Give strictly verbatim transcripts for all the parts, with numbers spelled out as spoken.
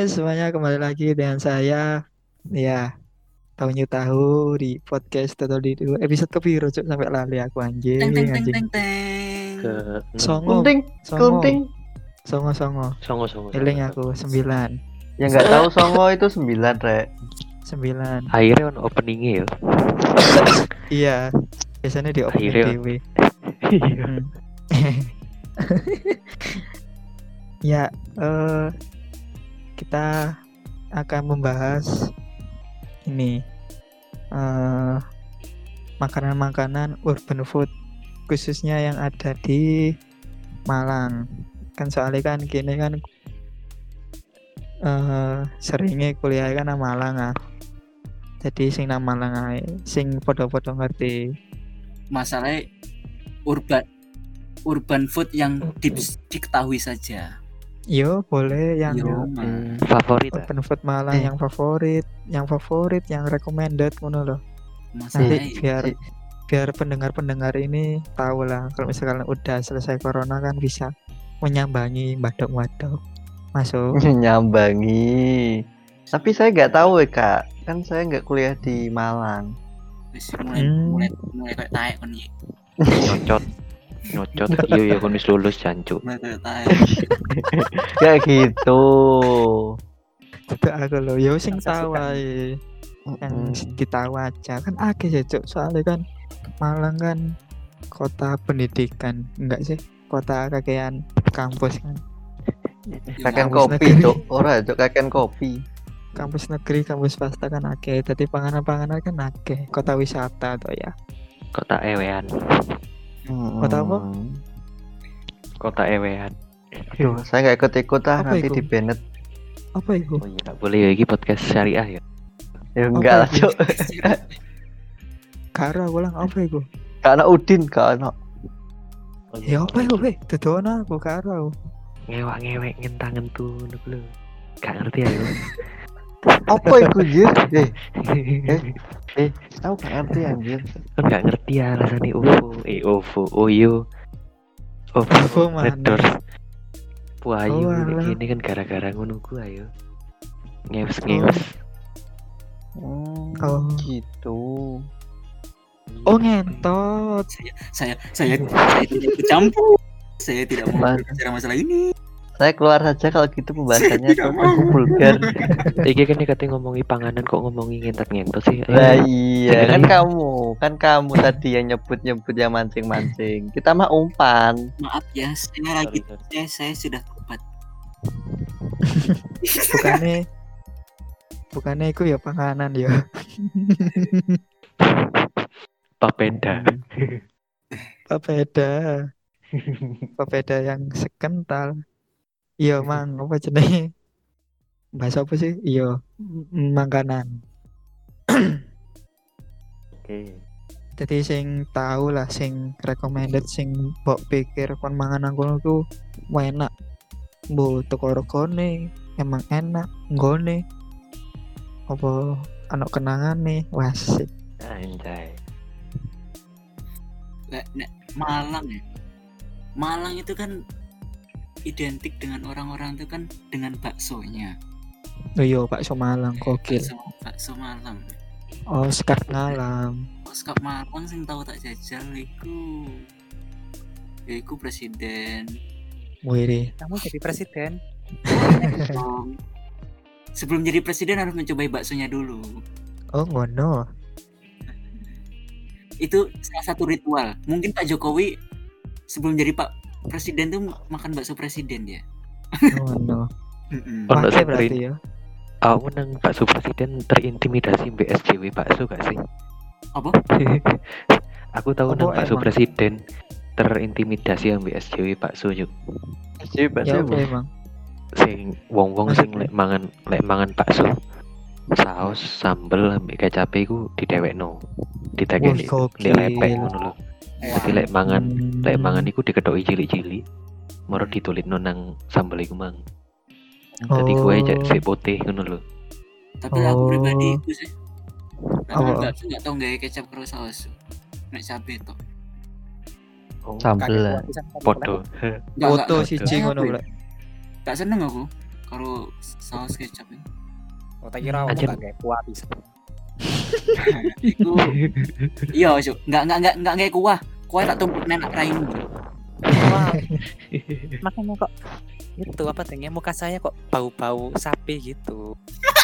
Oke, semuanya kembali lagi dengan saya. Ya, tahu tahu di podcast atau di di episode kepiro cuk sampai lali aku Teng teng anjing teng anjing. teng teng. Ke enam. Songo, Kunting, songo, kunting. songo, songo. Songo songo. Eling songo, aku songo. sembilan, Ya nggak tahu songo itu sembilan, Rek. sembilan. Akhirnya on openingnya ya. Iya, biasanya di opening Akhirnya. T V. Iya. Hmm. Ya, eh, kita akan membahas ini eh, makanan-makanan urban food khususnya yang ada di Malang. Kan soalnya kan kini kan eh, seringnya kuliah kan nang Malang ah. Jadi sing nang Malang ae, sing podo-podo ngerti. Masalahnya urban urban food yang di, diketahui saja. Yo, boleh yang Yo, Hmm, favorit ah. urban food Malang Eh. yang favorit, yang favorit, yang recommended ngono loh. Nanti masalahnya biar si- biar pendengar-pendengar ini tahu lah kalau misalkan udah selesai corona kan bisa menyambangi badok-badok masuk. Nyambangi. Tapi saya nggak tahu ya, Kak. Kan saya nggak kuliah di Malang. wis mulai Hmm. mulai mulai kayak taek kon iki. Nyocot. Nyocot. Iya ya kon wis lulus jancuk. Mulai kayak taek. Kayak gitu. Itu aku loh, yo sing Rasa tahu suka. ae, yang Mm-mm. ditahu aja kan akeh ya cuk, soalnya kan Malang kan kota pendidikan, enggak sih? Kota kakean kampus kan. Kaken Kampus kopi, negeri. Cuk. Ora, Cuk, kaken kopi. Kampus negeri, kampus swasta kan akeh, jadi panganan-panganan kan akeh. Kota wisata tuh ya. Kota ewean. Kota apa? Mm. Kota ewean. Aduh, saya nggak ikut-ikut ah, Apa nanti itu? di banned. Apa itu? Oh iya enggak boleh ya iki podcast syariah ya. Ya enggak lah, itu? Cuk. Karo aku lang apa itu? Kak anak Udin, Kak anak. Oh, Ya apa itu, weh? Dodono aku karo. Ngewak-ngewek ngentangen tuh lho. Gak ngerti ya yo. Apa itu, Jir? Eh, eh, aku nggak ngerti anjir. Kan gak ngerti ya rasanya U F O. Eh U F O. Oyo. U F O mana? Red Doors. Puayu Oh, ini alah. gini kan gara-gara ngono ku ayo. Ngews-ngews. Hmm, Oh. gitu. Oh ngentot. saya saya saya tidak bercampur. Saya tidak mau Mas. berbicara masalah ini. Saya keluar saja kalau gitu pembahasannya Tidak mau. vulgar. Iki kan katanya ngomongi panganan kok ngomongi ngentot-ngentot sih. Ayo. Lah iya, Jangan kan aja. kamu, kan kamu tadi yang nyebut-nyebut yang mancing-mancing. Kita mah umpan. Maaf ya, saya lagi Sorry, sorry. saya, saya sudah tobat. Bukannya bukannya itu ya panganan ya. Papeda. Papeda. Papeda yang sekental. Iya mang, apa jenenge? Bahasa apa sih? Iya, m- makanan. Oke. Jadi sing tahu lah, sing recommended, sing mbok pikir kon mangan nang kono ku enak. Mbok teko regane emang enak, nggone. Apa ana kenangane? Wah, sip. Anjay. Nek, nek Malang ya. Malang itu kan identik dengan orang-orang itu kan dengan baksonya. Oh iya, bakso Malang gokil. Bakso, bakso Malang. Oh, sekat ngalam. Oscar Malang sing tahu tak jajal iku. Ya iku presiden. Wih, Kamu jadi presiden. Um, Sebelum jadi presiden harus mencobai baksonya dulu. oh ngono. Itu salah satu ritual. Mungkin Pak Jokowi sebelum jadi Pak Presiden tuh makan bakso presiden dia. Ngono. Mm-mm. Oh, nggak Pakai semprin. berarti ya. Aku nang bakso presiden terintimidasi B S J W bakso gak sih? Apa? Aku tahu Apa nang bakso emang? presiden terintimidasi yang B S J W bakso yuk. Jadi Ya bakso oke emang. Sing wong-wong sing Maksudnya? lek mangan lek mangan bakso saus sambel ambek kecap iku didewekno. Ditekeni Wih, gokil. dilepek ngono lho. Tapi lek mangan Hmm. lek mangan iku diketoki cilik-cilik. Moro ditulitno nang sambel iku mang. Dadi Oh. kue cek sik putih ngono lho. Tapi aku Oh. pribadi itu sih. Karena Apa? bakso nggak tahu nggak kecap karo saus. Nek cabe tok. Oh, sambel lah. podo. Nggak, Foto nggak, siji nggak, ngono nggak, lek. Gak seneng aku karo saus kecap. Oh, tak kira aku Anjir. gak kayak kuah bisa. Iku iya, Cuk. Enggak enggak enggak enggak kayak kuah. Kuah tak tumpuk nenek raimu. Wah. Makanya kok itu apa tinggi muka saya kok bau-bau sapi gitu.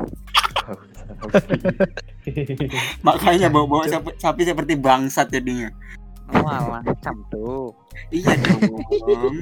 Makanya bawa-bawa sapi, sapi seperti bangsat jadinya. Walah, macam tuh. Iya dong.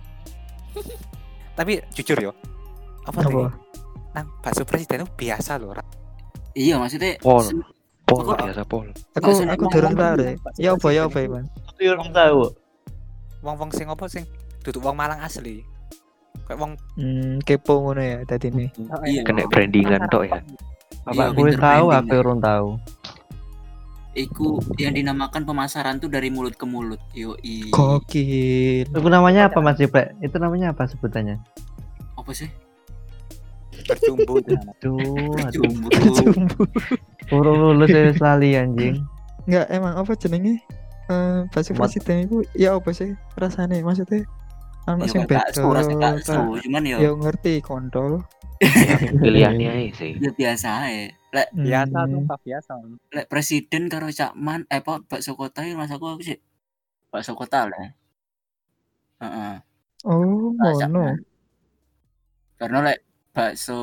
Tapi jujur yo. Apa Apa? tinggi? Nang bakso presiden itu biasa loh. Ra. Iya, maksudnya Pol. sen- Pol Kok- biasa pol. Aku Bakso aku nek durung ngomong tahu dulu, deh. bakso Ya apa ya apa presiden Iman? Aku orang tahu. Wong-wong sing apa sing duduk wong Malang asli. Kayak wong Hmm, kepo ngono ya tadi nih. Iya. Kena brandingan tok ya. Bapak Iya, gue pinter tahu, branding aku ya. orang tahu. Iku yang dinamakan pemasaran tuh dari mulut ke mulut. Yoi. Gokil. Itu namanya apa Mas Jiplek? Itu namanya apa sebutannya? Apa sih? berjumbu dengan Aduh, aduh. Jumbo. Jumbo. Urung lulus ya lali anjing. Enggak emang apa jenenge? Eh bakso Mat- presiden itu ya apa sih rasane maksudnya? Anak Ya sing kayak bakso, beda. rasa bakso, tak- cuman yo Ya ngerti kontol. Pilihannya aja sih. ya biasa ae. Lek biasa tuh Hmm. Pak, biasa. lek presiden karo cakman eh apa bakso kota iki mas aku apa sih? Bakso kota lah. Heeh. Oh, Nah, ngono. Cakman. Karena lek bakso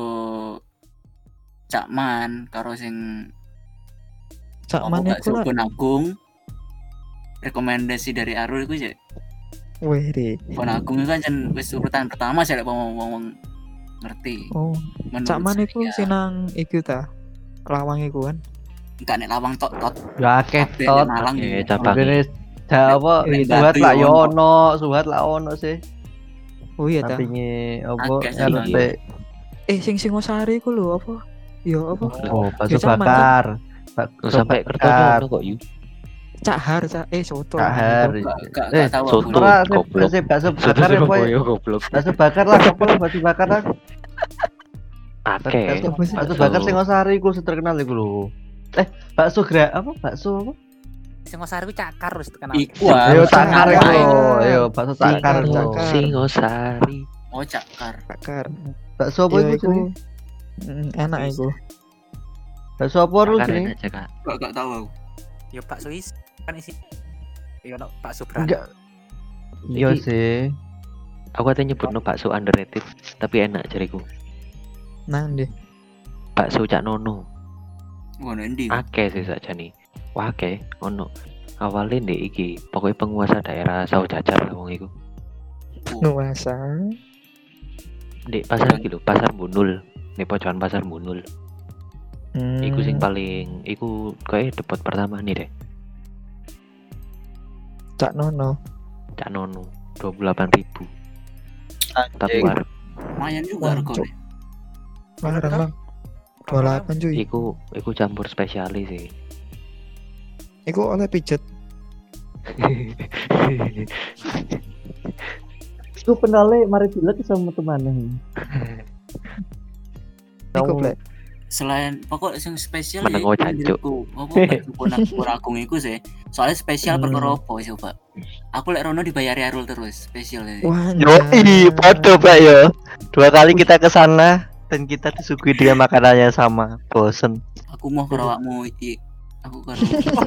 cakman karo sing Cak apa maneh bakso kula. Bonagung rekomendasi dari Arul iku sih. Weh, Ri. Bonagung itu kan jen wis urutan pertama sih lek wong-wong ngerti. Oh, Menurut cak maneh saya, ku sinang iku ta. Lawang iku kan. enggak nek lawang tok tot Ya akeh kabeh tot. nek Malang Oke, ya. cabang. Mungkin Jawa Nek suhat Batu lah ya yo ono. ono, suhat lah ono sih. Oh iya ta. Sampinge apa Akeh sih, R T. Eh sing Singosari ku lho apa? Ya apa? Oh, bakso Ya, sama. bakar. Oh, Bakso sampai bakar. kertonya kok yuk. Cak Har, cak eh soto. Cak Har. Enggak enggak Eh, tahu soto. aku. Ora goblok. sih bakso Satu bakar apa ya? Surabaya goblok. Bakso bakar lah, apa lah bakso bakar lah. Oke. Bakso, Apa sih? bakso bakar Singosari iku terkenal iku lho. Eh, bakso gra apa? Bakso apa? Singosari ku cakar terus terkenal. Iku ah. Ayo Cakar, cakar Cakar. iku. Ayo bakso cakar Cakar, iku. Cakar. Singosari. Oh cakar. Bakar. Bakso apa Ya, iku iku. jenenge? Mm, enak iku. Bakso apa lu Karen jenenge? aja kak. Enggak enggak tahu aku. Yo bakso is kan isi. Yo no bakso berat. Enggak. Iya Iki- sih. Aku katanya nyebut no bakso underrated, tapi enak jariku. Nang deh. Bakso Cak Nono. Ngono endi? Akeh sih saja nih. Wah akeh, ono. Awalnya ndek iki, pokoknya penguasa daerah Sawo Jajar lah wong iku. Nuasa. Ndek pasar iki lho, pasar Bunul. Nih pojokan pasar Bunul. Hmm. Iku sing paling, iku kayak depot pertama nih deh. Cak Nono. Cak Nono, dua puluh delapan ribu. Tapi Anjing. warung. Lumayan juga Wah, regane. Larang lang. dua puluh delapan cuy. Iku, iku campur spesialis sih. Iku oleh pijet. Iku penale mari dilek sama temannya. Iku Kamu- plek. Selain pokok sing spesial Meneng oh, jancuk. menurutku. Apa bakso Bonagung iku sih. Soalnya spesial Hmm. perkara apa coba. Aku lek rono dibayari Arul terus spesial ya. Wah. Yoi, podo Pak yo. Dua kali kita ke sana dan kita disuguhi dengan makanannya sama. Bosen. Aku mau karo awakmu iki. Aku karo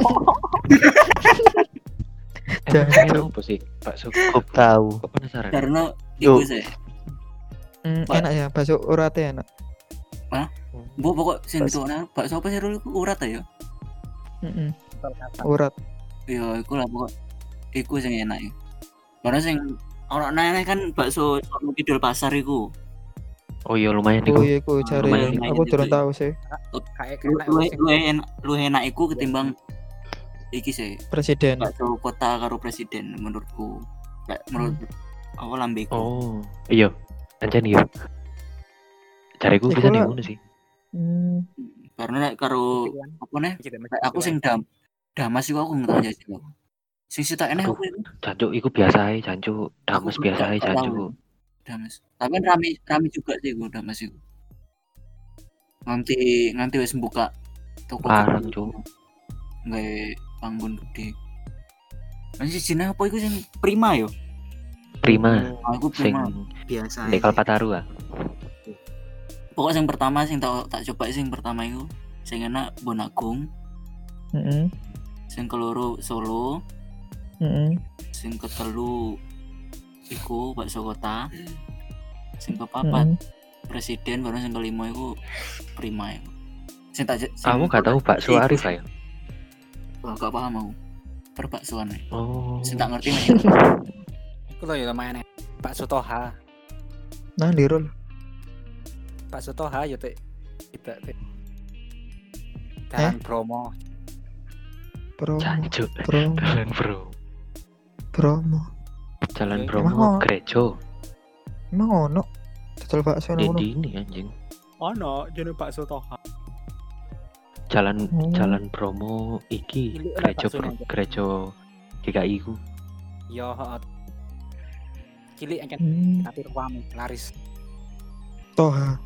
Jangan. Emang enak apa sih bakso? Cukup tahu. Kok penasaran? karena iku Yuk. sih. Hmm, Pak. enak ya bakso urate enak. Bu pokok sing Bakso. ditokne bakso apa sih Rul iku urat ya? Heeh. Urat. Ya iku lah pokok iku sing enak ya. Karena sing ora nene kan bakso Sono Kidul pasar iku. Oh iya lumayan Oh iku. iya iku cari. lumayan, Aku lumayan durung itu. tahu sih. Kayak Lu kayak lu sing- lu enak lu enak iku ketimbang iki sih Presiden. bakso kota karo presiden menurutku. Kayak menurut aku lambeku. Oh iya, ancen iya. Cariku Iku bisa nih lah. ngono sih. Hmm. Karena lek karo apa nih? Kayak aku sing dam damas iku aku nggak tahu jajal aku. Sing sitok enek aku iku Jancuk iku biasa ae, jancuk. Dames Aku biasa nggak- ae, nggak tahu. jancuk. damas. Tapi kan rame rame juga sih iku damas iku. Nanti nanti wis buka toko Parang, gede. Cuk. Nggak panggon gede. Masih sini apa iku sing prima yo? Prima, Aku sing prima biasa. ndek aja. Kalpataru ah. Pokok yang pertama sing tak tak coba sing pertama itu sing enak Bonagung, Heeh. sing keloro Solo, Heeh. sing ketelu iku bakso kota, sing kepapat presiden, baru sing kelima iku Prima iku. Sing tak sing Kamu gak tahu bakso Arif ya? Wah, gak paham aku. Perbaksoan ae. Oh. Sing tak ngerti nih. Iku lho ya lumayan. Bakso Toha. Nah, dirul. Bakso Toha ya teh. Tidak teh. Jalan promo. Promo. Jancuk. Promo. Jalan bro. Promo. Jalan Emang promo ono? gereja. Emang ono? Total bakso Di ngono. di ini anjing. Oh no, jeneng bakso Toha. Jalan Oh. jalan promo iki Ini enak gereja baksonya, pro- Cok. gereja G K I ku. Yo, heeh. Cilik aja Hmm. tapi rame laris. Toha.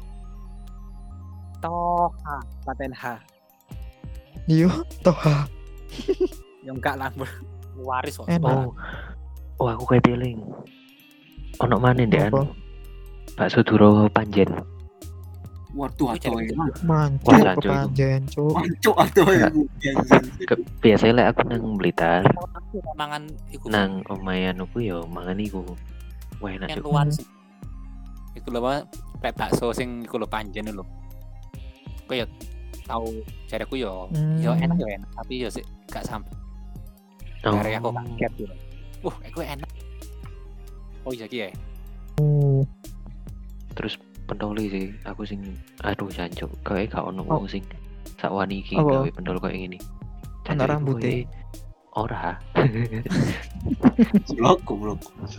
Toha, paten H. Iya, Toha. Yang enggak lah, Bro. Waris kok. Enak. Oh. Oh, aku kayak teling. Ono maneh ndek Apa? anu. Bakso Duro Panjen. Waduh, Itu aduh jadi- emang. Mancuk Wah, jancuk itu. kepanjen, cuk. Mancuk aduh iku. Ke- Biasanya lek aku nang Blitar, Aku mangan iku nang omayan aku yo mangan iku. Wah enak yang Cuk. luar sih. Iku lho apa? Kayak bakso sing iku lho panjen lho. Kok ya tahu jareku yo Hmm. yo enak yo enak, tapi yo sih gak sampai. Oh. Dari aku kaget gitu. Wah, iku enak. Oh iya ki ya. Oh. Terus pentoli sih, aku sing aduh jancuk, kayak gak ono Oh. wong sing sakwani iki Apa? gawe pentol koyo ngene. Ana Jancuk iku rambute. koyo- Ora. Blok goblok.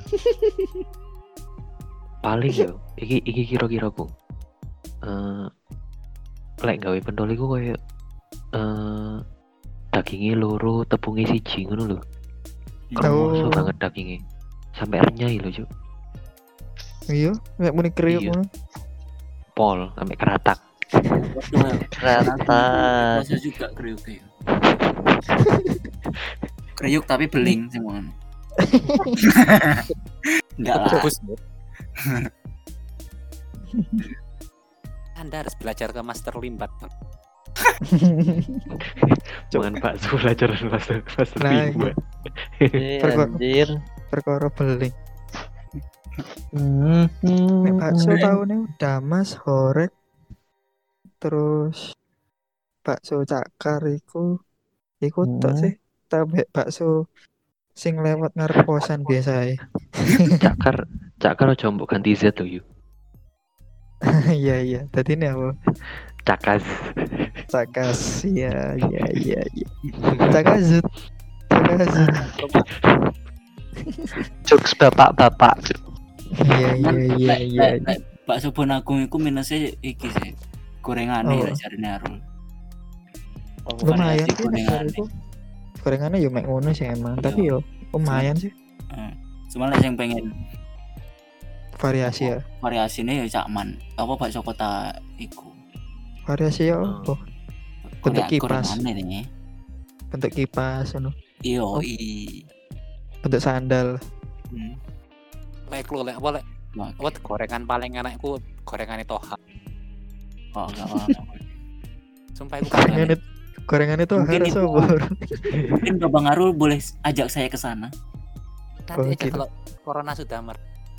Paling yo iki iki kira-kira ku. Eh lek gawe pentol iku koyo eh dagingnya loro, tepungnya siji ngono lho. Kremoso Oh. banget dagingnya. Sampai renyah lho, Cuk. Iya, nek muni kriuk Iya. ngono. Pol sampai keratak. Waduh. Rata. Rasa juga kriuk ya. Kriuk tapi beling semua. Enggak lah. Bagus. Anda harus belajar ke Master Limbat. Jangan bakso belajar bakso bakso Nah, rimba. Eh, Perkara- anjir. Perkara beling. Hmm, Nek bakso hmm. taune Damas, Horek, terus bakso Cakar iku iku tok Hmm. sih. Tapi bakso sing lewat ngarep kosan biasa. Cakar cakar aja mbok ganti Z to yuk. Iya iya. Tadi ini apa? Cakas. Cakas. Iya iya iya iya. Cakazut. Cakazut. Jokes bapak-bapak. Iya iya iya iya. Lek- lek bakso Bonagung iku minusnya iki sih. Gorengane Oh. ya jarine Arul. Lumayan variasi sih nek gorengane. iku. Gorengannya yo mek ngono sih emang, tapi yo lumayan sih Eh, Cuma lek sing pengen variasi ya. variasinya ya cakman. Apa bakso kota iku? Variasi ya Oh. apa? Bentuk Goreng- kipas. gorengane nih. Bentuk kipas ngono. Iya, Oh. i. Bentuk sandal. Hmm. Lek lu lek apa lek Wah, apa gorengan paling enak iku gorengane Toha. kok enggak apa. Sumpah iku Gorengan gorengane. itu gorengan itu Mungkin harus itu- sobor. Mungkin Bang Arul boleh ajak saya ke sana. Nanti Oh, aja gitu. kalau corona sudah mer.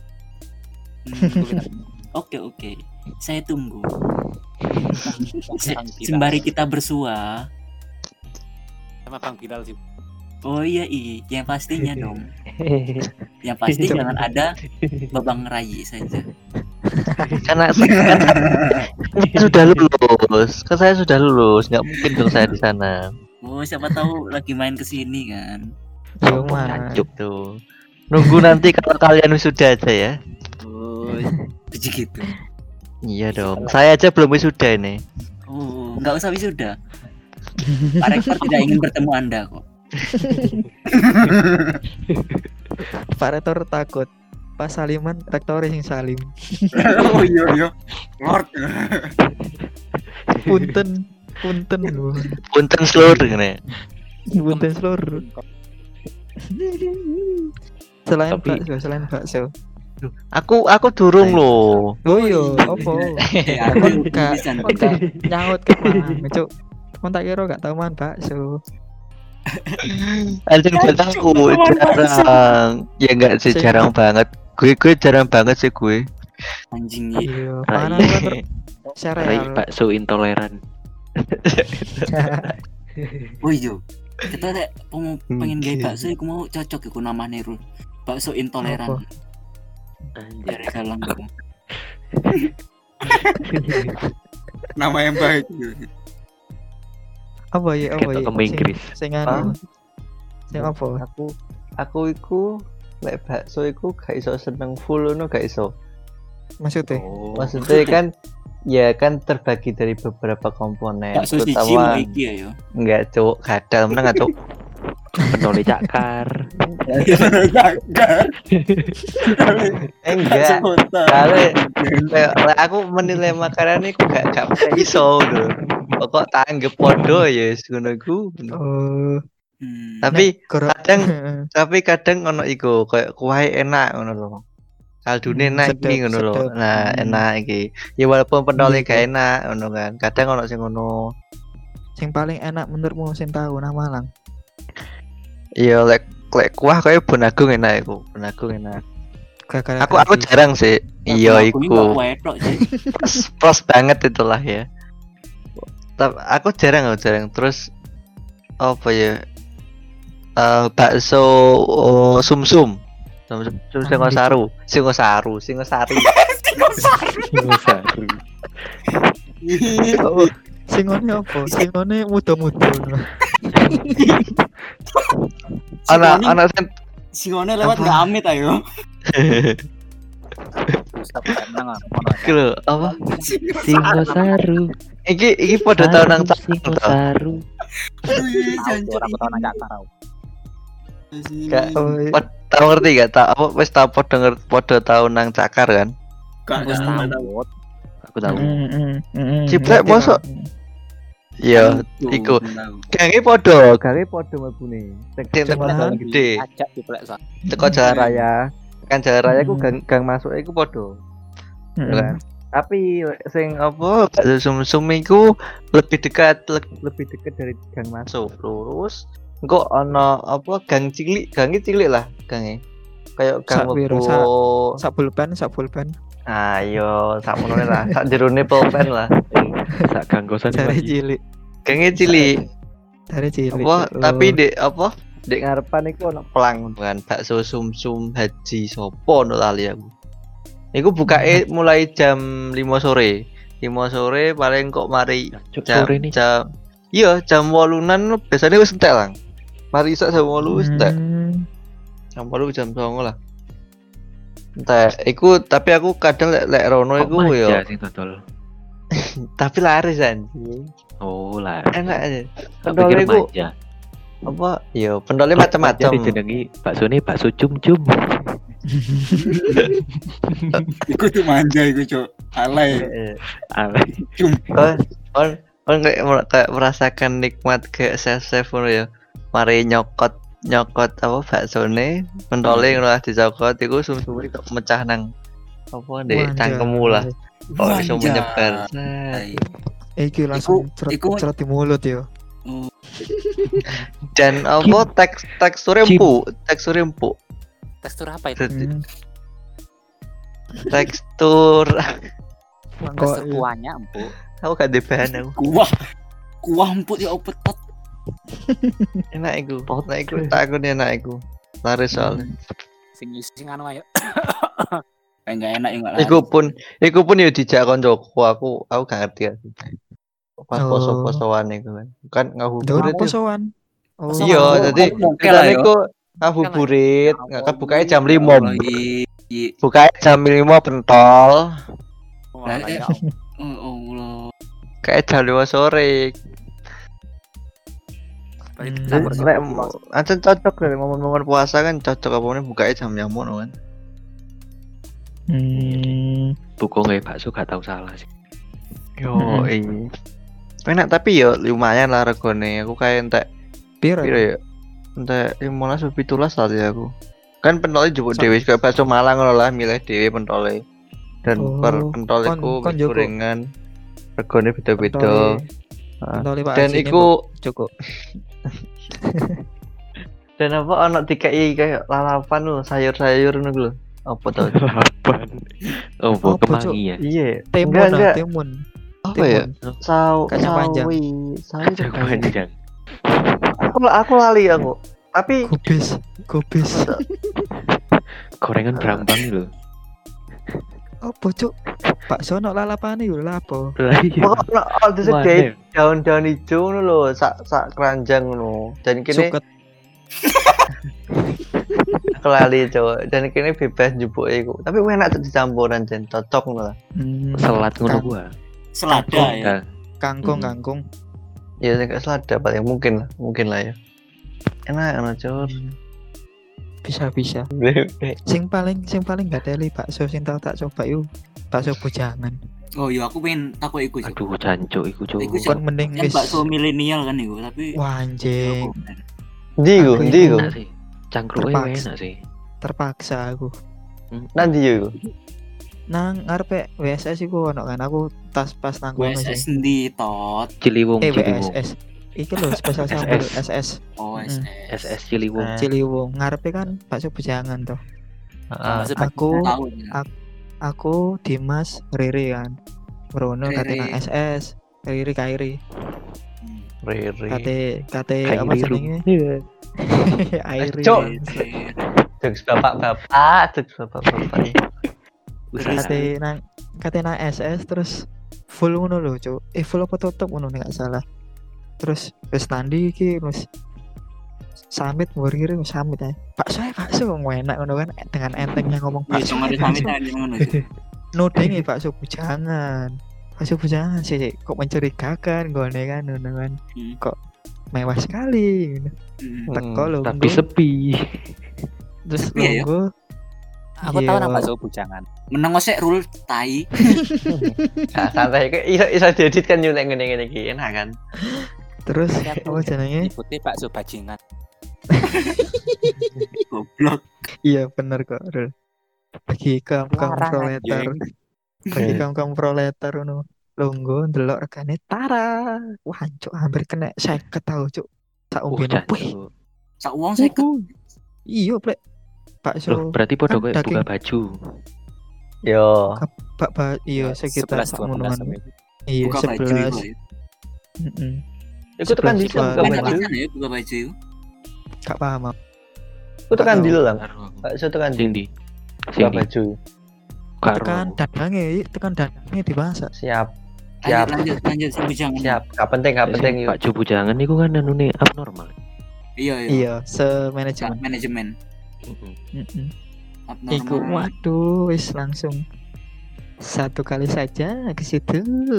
Hmm. Oke, oke. Saya tunggu. Se- Bang Bilal. Sembari kita bersua. Sama Bang Bilal sih. Oh iya, i. Yang pastinya dong. Yang pasti jangan ada babang rayi saja. Karena saya sudah lulus. Kan saya sudah lulus, nggak mungkin dong saya di sana. Oh, siapa tahu lagi main ke sini kan. Yo Sombong, man. jancuk. Tuh. Nunggu nanti kalau kalian wisuda aja ya. Oh, jadi gitu. Iya dong. Saya aja belum wisuda ini. Oh, nggak usah wisuda. Pak Rektor tidak ingin bertemu Anda kok. Pak Rektor takut. Pas saliman rektor sing salim. Oh iya iya. Lord. Punten, punten lho. Punten seluruh ini. Punten seluruh. Selain Tapi- bakso, selain bakso. Aku aku durung Ayo. loh. Oh iya, opo? Eh, aku Gak pisan. gak nyaut ke mang, cuk. Kon tak kira gak tau man bakso. Anjing batangku jarang. Ya enggak sih, Sing- jarang banget. Gue gue jarang banget sih gue. Anjing iya. Iya, Rai. panganan kan ter- Rai sereal. bakso intoleran. Oh iya. Kita nek mau pengen gawe Oke. bakso iku mau cocok iku namane Rul. Bakso intoleran. Apa? Anjir. Dari dalam iku. Nama yang baik. Apa ya, apa Ketok ya? ke Inggris. Sing Hah? anu. Sing apa? Aku aku iku lek bakso iku gak iso seneng full ngono gak iso. Maksudnya? Oh. Maksudnya kan ya kan terbagi dari beberapa komponen. Bakso siji Terutama mau iki ya yo. enggak cuk, kadal meneng gak cuk. Pendoli cakar. Eh enggak. Kali lek lek aku menilai makanan iku gak gak iso lho. Pokok tak anggap podo ya wis ngono iku. Oh, Hmm. Tapi goro- kadang tapi kadang ono iku kayak kuah enak ngono lho. Kaldune Hmm, enak sedep, iki ngono lho. sedep. Nah, Hmm. enak iki. Ya walaupun pendole Iya, gak kok. enak ngono kan. Kadang ono sing ngono. sing paling enak menurutmu sing tahu nang Malang. Iya lek lek kuah kayak Bonagung enak iku. Bonagung enak. Gara-gara Aku aku gaji. jarang sih. Iya iku. Wedok sih. Plus, plus banget itulah ya. Tapi aku jarang aku jarang. Terus apa ya? Eh bakso oh, sumsum. Sumsum sum Singosari, Singosari, Singosari. Singosari. Oh, singone apa? Singone muda-muda. Anak anak sen Singone lewat Apa? nggak amit ayo. Bisa menang ngono. iki lho, apa? Singosaru. Iki iki pada tahun nang cak. Singosaru. Aduh iya Tahu jancuk. aku tahu nanya tahu. Gak. Oh, iya. Pod- Tahu ngerti gak? Tak apa wis tau pada ngerti pada tahun nang cakar kan? Gak Wis tahu. tahu. Aku tahu. Mm, mm, mm, mm. Ciplek, Ngerti, mosok? Bang. Iya, Tuh, iku. tahu. gange podo, gange podo mlebune. Sing sing teko Cuman- jalan gede, Ajak diplek sa. teko jalan raya. Kan jalan raya ku Hmm. gang gang masuk iku podo. Mm, Ya kan? Tapi sing apa bakso sumsum iku lebih dekat le- lebih dekat dari gang masuk lurus engko ana apa gang cilik gange cilik lah gange kayak gang Sak piro, mlebu sak- sak pulpen, sak pulpen. ayo sak menone lah sak jerone pulpen lah Sak ganggosan Dari lagi. cilik, gange cilik dari cilik. apa Oh. tapi dek apa dek ngarepan iku ana pelang kan bakso sumsum haji sopo no lali aku iku bukae mulai jam lima sore lima sore paling kok mari Cuk, jam sore nih. jam iya jam wolunan biasanya wis entek lang mari isak jam wolu wis entek Hmm. jam wolu jam songo lah entek iku tapi aku kadang lek lek rono Kok iku maja yo sing dodol. tapi laris kan Oh lah. enak aja Tak pendole pikir iku maja. apa yo pendole Maja macam-macam dijenengi bakso ini bakso cum-cum. Iku tuh manja iku, Cuk. Alay. Heeh. Alay. on on on kayak mer- kayak merasakan nikmat kayak chef chef ngono ya mari nyokot nyokot apa baksone pentole ngono lah dicokot iku sum-sum kok mecah nang apa dek Wanja. cangkemmu lah kok iso Manja. menyebar Ay. Iki langsung Iku- cerot iku- cerot di mulut yo. dan apa teks teksturnya Kim. empuk teksturnya empuk Tekstur apa itu? Jadi, Hmm. tekstur Kok Tekstur iya. kuahnya empuk. aku gak ada bahan aku Kuah. Kuah empuk ya opetot. enak iku enak iku tak aku enak iku laris soalnya Sing sing anu ayo. Kayak enggak enak ya enggak iku pun iku pun ya dijak koncoku aku aku gak ngerti aku pas Oh. poso-posoan iku kan kan Daun ngabuburit itu posoan. Oh. Posoan. iya Oh, jadi oke lah, kita yo. iku ngabuburit Oke. bukanya jam lima Iya. Iya. bukanya jam lima pentol Wah, Lah, eh. ya. Oh Allah. kayak jam lima sore Berarti Hmm. campur Lek- sih. lek ancen cocok deh momen-momen puasa kan cocok apa nih bukanya jam nyamun kan Hmm. Buku nggak bakso gak tahu salah sih. yo Mm-mm. iya enak tapi yo lumayan lah regone aku kayak entek Piro? piro ya entek lima belas lebih tulas tadi aku Kan pentolnya jupuk So- dhewe kayak bakso Malang ngono lah, milih dhewe pentolnya. Dan Oh, per pentol kon- iku kon jupuk. gorengan regane beda-beda. Pentole- Heeh. pentole Pak Dan Haji ini, iku Bu, cukup. dan apa ono dikai kayak lalapan lho, sayur-sayur ngono lho. Apa tau? Lapan. Oh, Oh, bu kemangi ya. Iya. Timun, Enggak, ah, enggak. timun. Apa ya? Timun. Saw, Kacang panjang. sawi, sawi Kacang apa ya? panjang. Aku aku lali aku. Tapi Kubis, kubis. Gorengan brambang lho. Apa cuk? Bakso nok lalapane yo lha apa? Lah iya. pokok ono ono disediain Mana? daun-daun hijau ngono lho, sak sak keranjang ngono. Dan kini Suket. aku lali cowok. Dan kini bebas njupuk iku. Tapi enak tuh dicampuran jen, cocok ngono lah. Hmm, Selat ngono Kang- gua. Selada ya. Nah, Kangkung, Hmm. kangkung. Ya sing gak selada paling mungkin lah, mungkin lah ya. Enak ono cowok. Bisa bisa. Sing paling sing paling gak teli bakso sing tau tak coba yuk. Bakso bujangan. Oh iya aku pengen takut iku sih. aduh jancuk iku cuk. Iku Kon mending Kan wis. bakso milenial kan iku, tapi Wah anjing, Ndi iku, Aku ndi iku. Enak sih. Cangkruke Terpaksa. enak sih. terpaksa aku. Nanti iku. Nang ngarepe W S S iku ono kan aku tas pas nang W kono S S sih. ndi tot. Ciliwung, Eh W Ciliwung. S S. Iki lho spesial S S. sambal S S. Oh Mm. S S S. S Ciliwung. Eh. Ciliwung. Ngarepe kan bakso bujangan toh. Heeh. Maksud Aku- tahu ya. aku- Aku Dimas Riri kan. Brono kate Riri. nang S S. Riri Kairi. Hmm. Riri. Kate kate Kayak apa biru. jenenge? Airi. Cuk. Riri. Jokes bapak-bapak, jokes bapak-bapak. Usaha. Kate nang kate nang S S terus full ngono lho, Cuk. Eh full apa tutup ngono nek gak salah. Terus wis tandi iki wis samit murir wis samit ae. Bakso ae bakso kok enak ngono kan dengan entengnya ngomong Wih, bakso. cuma ada samit aja ngono. Cuk. Nodenge bakso bujangan. Bakso bujangan sih kok mencurigakan gone kan ngono kan. Hmm. Kok mewah sekali ngono. Hmm. Teko lho. Tapi sepi. Terus Sepi ya, ya? longgo. Aku tahu Iya. nama bakso bujangan. Meneng sik rule tai. Nah, santai iki iso iso diedit kan yo nek ngene-ngene iki enak kan. Terus Tapi aku apa jenenge? nyebutnya bakso bajingan. Goblok. Iya bener kok, Rul. Bagi kaum kaum Larang, proletar, bagi kaum kaum proletar ngono. Longgo ndelok regane tara. Wah, cuk hampir kena seket tau, cuk. Sak Uh, umbene. Wih, jancuk. Sak uang seket. iya, Plek. Loh, Bakso, berarti podo kan kayak buka daging. baju. Yo. bak ba, iya sekitar sebelas sak dua belas ngono. Iya, Buka baju sebelas. iku. ya. Heeh. Iku tekan di Sebelas, buka dua, Enak baju. pisan ya buka baju iku. Gak paham aku. Iku tekan Tahu. di lah. Karo aku. Bakso tekan di Sing di. buka Sing di. baju. Karo Tekan aku. dadange, tekan dadange dimasak. Siap. Lanjut Siap. lanjut lanjut sampai jangan. Siap. Gak penting, gak penting yuk. Pak Jobu jangan niku kan anune abnormal. Iya iya. Iya, Cak, semanajemen. manajemen. Heeh. Heeh. Abnormal. Iku waduh wis langsung satu kali saja ke situ.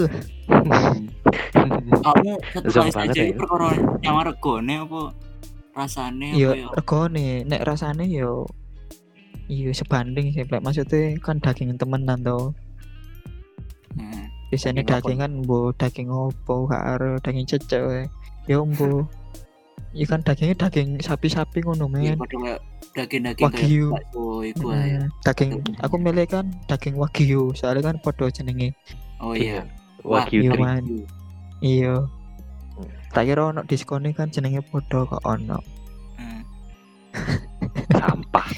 Kamu satu Zong kali banget saja ya. itu perkara nyawa regone apa rasane apa Yo ya? regone nek rasane yo iya sebanding sih Plek. Maksudnya kan daging temenan to. Heeh. Biasanya Daging apa? daging kan mbo daging opo gak aro daging cecek wae. Yo mbo. Iya kan dagingnya daging sapi-sapi ngono Iya men. padha kayak daging-daging kayak Wagyu. bakso iku ae. Mm, daging aku milih kan daging wagyu soalnya kan podo jenenge. Oh iya. Wagyu Iya tri. man. Iya. Tak kira ono diskone kan jenenge podo kok ono. Heeh. Sampah.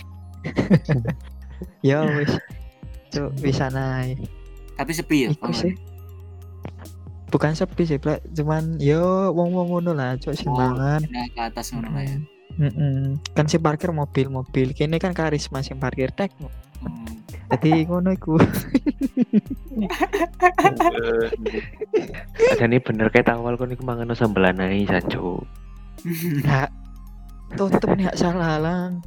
Ya wis. Cuk bisa naik. Tapi sepi ya. Iku Paman? sih. Bukan sepi sih, Plek. Cuman yo wong-wong ngono lah, cuk sing Oh, mangan. Naik ke atas ngono lah ya. Heeh. Kan sing parkir mobil-mobil. Kene kan karisma sing parkir tek. Hmm. Dadi ngono iku. Ada nih bener kayak awal kon iku mangan sambelan ae jancuk. Nah, tutup nih gak salah lang.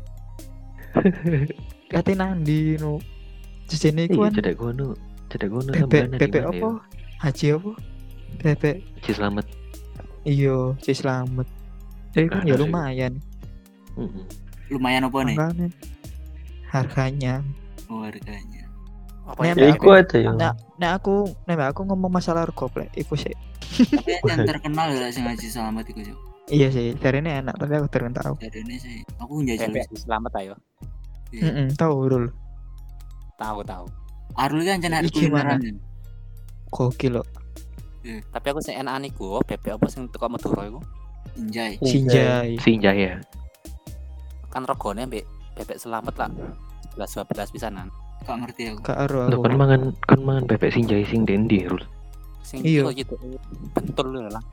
Kate nandi no. Jejene iku Iya kan cedek ngono. Cedek ngono bebek sambelan bebek apa? Haji apa? Bebek Ci selamat. iya, si selamat. Jadi kan ya Aduh. lumayan. Heeh. Lumayan apa nih? Makanya harganya. Oh harganya. Apa Nek ya? Ya aku- iku aja yo. Nek nek aku nek aku ngomong masalah rego Plek, iku sih. Tapi yang terkenal ya sing ngaji selamat iku Cuk. Iya sih, dari ini enak tapi aku kurang tahu. Jadi ini sih aku njajal. Bebek selamat ayo. Iya. Heeh, tahu Rul. Tahu tahu. Arul kan jangan Iki mana? kulineran. Gokil loh. Tapi aku sing enakan iku, bebek apa sing teko Madura iku? Injay. Sinjai. Sinjai ya. Kan regane mbek bebek selamat lah. sebelas dua belas pisanan. Gak ngerti aku. Gak ero Lo aku. kan mangan kan mangan bebek Sinjai sing dendi Rul. Sing Iya. itu gitu. Bentul lho lah.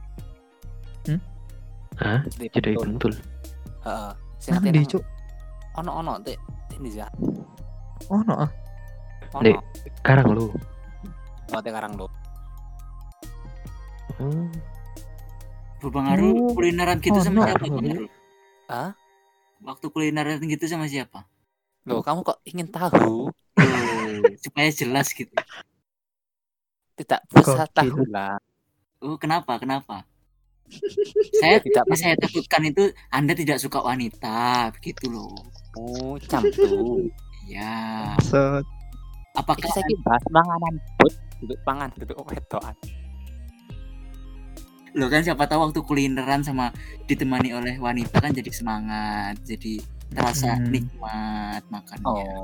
Hah? Jadi Jadi bentul. bentul. Heeh. Sing Nang ate ndi, nang- Cuk? ono-ono teh ini ya. Ono ah. Dek. Ono. Karang lu. Ono teh karang lo. Hmm. Bang Arul Oh. kulineran gitu Oh, sama no. siapa Bang Arul? Hah? Waktu kulineran gitu sama siapa? Loh, kamu kok ingin tahu? Oh, supaya jelas gitu. Tidak usah Gokil. tahu lah. Oh, kenapa? Kenapa? Saya Tidak tidak saya takutkan itu Anda tidak suka wanita, begitu loh. mau camtu. Ya. Set. Apakah Iki saiki bahas panganan, Bud. Duduk pangan, duduk wedokan. lo kan siapa tahu waktu kulineran sama ditemani oleh wanita kan jadi semangat, jadi terasa Hmm. nikmat makannya. Oh,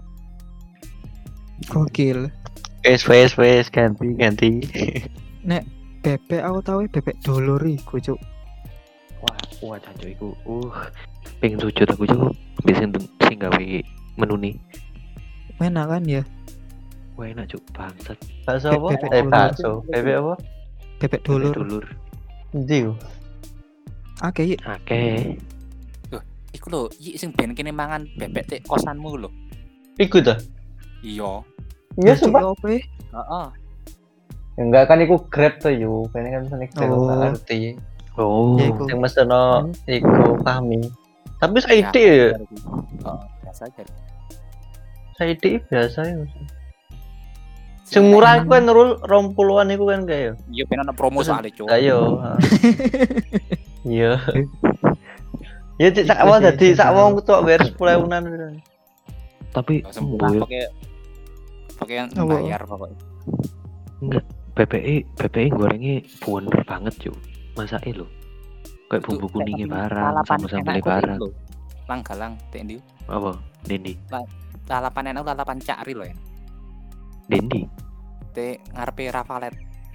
Gokil. Wes wes wes ganti ganti. Bebek aku tahu bebek dolor iku, Cuk. Wah, wah jancuk iku. Uh, pengen sujud aku Cuk. Biasanya sing gawe menu nih. Enak kan ya? Wah enak Cuk, bangsat. Bakso apa? Bebek Eh dulur. bakso. Bebek apa? Bebek Bebek dolor. dulur. Ndi? Oke, Akeh. iku lho, iki sing ben kene mangan bebek teh kosanmu lho. Iku tuh. Iya. Iya sumpah. Opo? e? Heeh. Enggak kan iku Grab tuh yo. Kene kan pesen Grab Oh. enggak ngerti. Oh. Ya iku. Sing meseno iku kami. Tapi Saidi Ya, ya. Heeh, biasa aja. Saidi biasa ya. Sing murah iku kan Nurul rong puluhan iku kan kayak. Iya ben ana promo soalnya, Cuk. Ayo. Iya. Ya cik sak Iku awal sih, dadi sak sing wong tok bayar sepuluh ribuan. Tapi Gak sempurna mboyo pakai pakai yang Apa? bayar pokoknya. B P I B P I gorengnya bener banget Cuk. Masake lho. Kayak bumbu kuningnya barang, sama sambelnya barang. Lang galang tek ndi? Apa? Dendi. Lalapan enak lalapan cakri lho ya. Dendi. Te ngarepe Ravalet.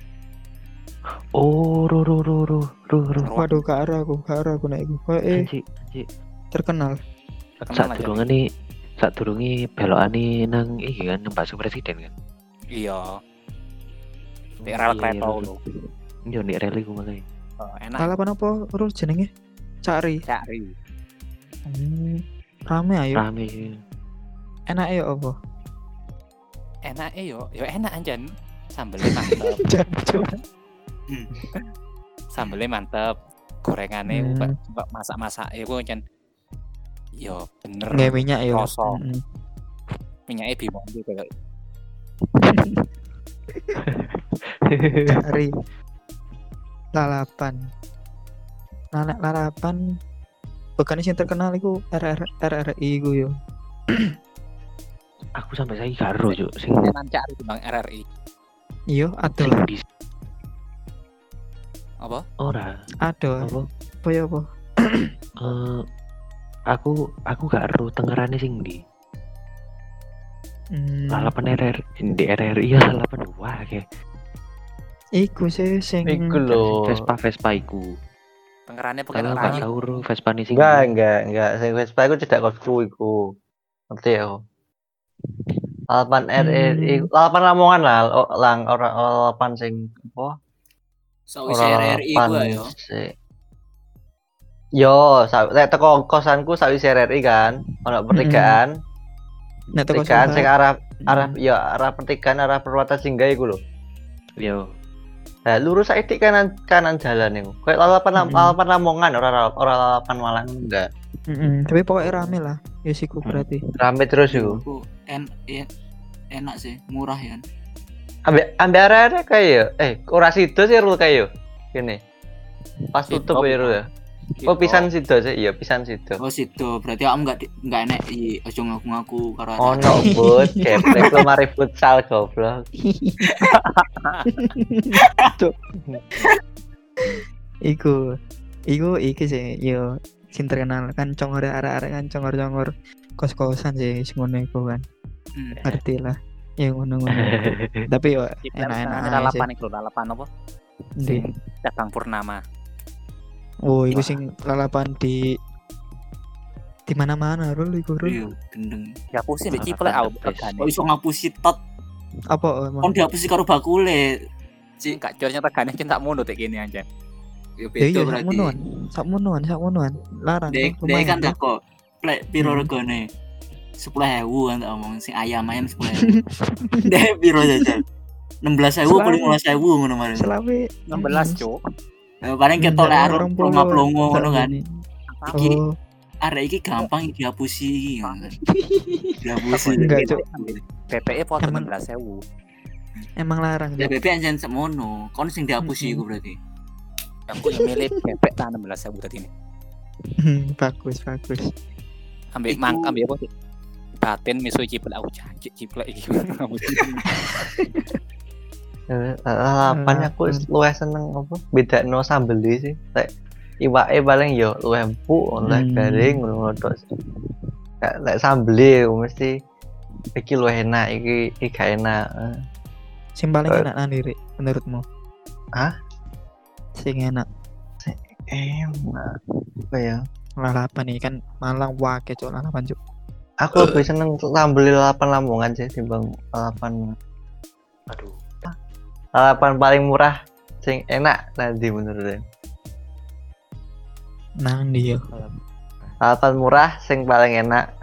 Oh, ro ro ro ro ro ro. Waduh, gak ero aku, gak ero aku nek iku. Kok eh Anjir, anjir. terkenal. Terkenal Saat aja. durungane saat durunge belokane nang iki kan nang bakso presiden kan. Iya. Te Oh, rel iya, kereta iya, lho. Iya nek rel iku makane. Oh, enak Lalapan apa Rul jenenge? Cari. cakri. Hmm, rame ayo. Rame sih. Enak ya apa? Enak eh yo, yo enak anjan. Sambelnya mantep, Jancuk. sambelnya mantep. Gorengane Hmm. hmm. kok masak-masak iku anjan. Yo bener. Nggak minyak ya. Rasa. Mm-mm. Minyaknya bimonde kayak Cari. Lalapan. Nah, lalapan bukan sing terkenal iku R R R R I iku yo. Aku sampai saiki gak ero Cuk sing tenan cakri di Bang R R I. Iya, ada sing lah. bis Apa? ora. Ada. Apa? Apa ya apa? Eh aku aku gak ero tengerane sing ndi. Hmm, Lalapan R R di R R I ya lalapan wah kayak iku sih sing Iku lho. Vespa Vespa iku. Tengerane Tapi pakai aku gak rai. tau ro Vespa nih sing Enggak, ndi. enggak, enggak. Sing Vespa iku tidak kosku iku. Ngerti ya? Lalapan R R I, Hmm. lalapan Lamongan lah, o- lang ora lalapan sing apa? Sakwise R R I ku ayo. sing- Yo, sa- nek teko kosanku sawise R R I kan, ono pertigaan, nek teko pertigaan sing Sobat. arah arah ya arah pertigaan arah perwata singgah iku lho. Yo. Nah, lurus saiki kanan kanan jalan iku. Kayak lalapan Mm-mm. lalapan Lamongan ora ora lalapan Malang enggak. Mm-mm, tapi pokoknya rame lah. Ya siku berarti. Rame terus iku. Iku en ya, enak sih, murah ya. Ambek ambek arek kayak eh ora sido sih rul kayak kene. Pas Sido, tutup ya rul ya. Oh pisan sido sih, iya pisan sido. Oh situ, berarti kamu enggak enggak enak i ojo ngaku-ngaku karo Oh no bud, geblek lu mari futsal goblok. Iku, iku iki sih, yo sing terkenal kan congor arek-arek kan congor-congor kos-kosan sih sing ngono iku kan. Hmm. Ngerti lah. Ya ngono-ngono. Tapi yo enak-enak Ada aja sih. lalapan iku lho, lalapan apa? Ndi? Sing Cabang Purnama. Oh, iku Wah. sing lalapan di di mana-mana Rul iku Rul. Iya, gendeng. Dihapusin di ciplek Lalapan au the best. regane. Kok iso ngapusi tot? Apa emang? Kon dihapusi karo bakule. Cik, Gak jornya regane cinta mono tek kene aja. ya Ya beda iya sak berarti. monoan. Sak monoan, sak monoan. Larang Dek, tuh, dek lumayan kan tuh. tak kok. Plek piro Hmm. regane? sepuluh ribu kan tak omong sing ayam-ayam sepuluh ribu. Dek piro jajan? enam belas ribu apa Selawe. lima belas ribu ngono mari. Selawe enam belas, Cuk. Eh, paling ketok lek arep plongo-plongo ngono kan. Iki Oh, arek iki gampang dihapusi iki ngono kan. Dihapusi. Enggak, Cuk. B P E foto Emang- enam belas ribu. emang larang Ya Cuk. bebek anjen semono. Kon sing dihapusi Mm-mm. iku berarti. Aku yang milih B P E enam belas ribu tadi ini. Bagus, bagus. Ambil Iku- mang ambil apa sih? Batin miso ciplek aku janji ciplek iki. Eh, Lalapan aku Hmm. luwih seneng apa? Bedakno sambel sih. Lek iwake paling yo luwih empuk, luwih Hmm. garing ngono tok. Lek lek sambel mesti iki luwih enak, iki iki gak enak. Eh, Sing paling Eh. enak nanti Rik, menurutmu? Hah? Sing enak Enak. Apa ya? lalapan nih kan Malang wake Cuk lalapan Cuk. Aku lebih seneng sambel lalapan Lamongan sih timbang lalapan. Aduh, Lalapan paling murah sing enak nanti menurut. Nang dia. Lalapan murah sing paling enak.